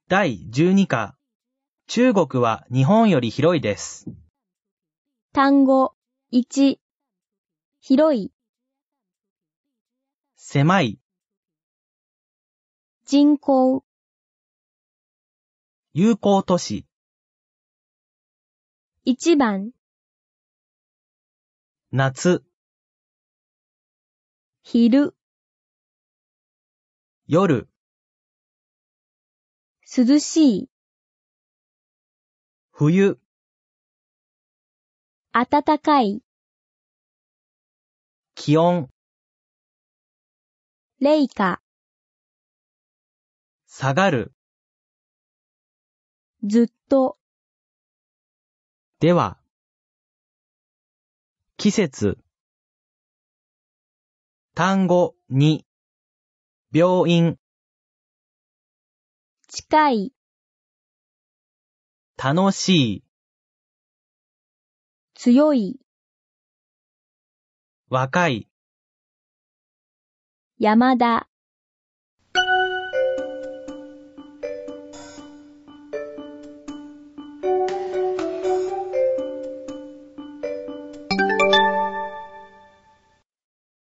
第12課。中国は日本より広いです。 単語1、広い、 狭い、 人口、 友好都市、 一番、 夏、 昼、 夜、 涼しい、 冬、 暖かい、 気温、 冷夏、 下がる。 ずっと、 では、季節。単語2、病院、 近い、 楽しい、 強い、 若い、 山田。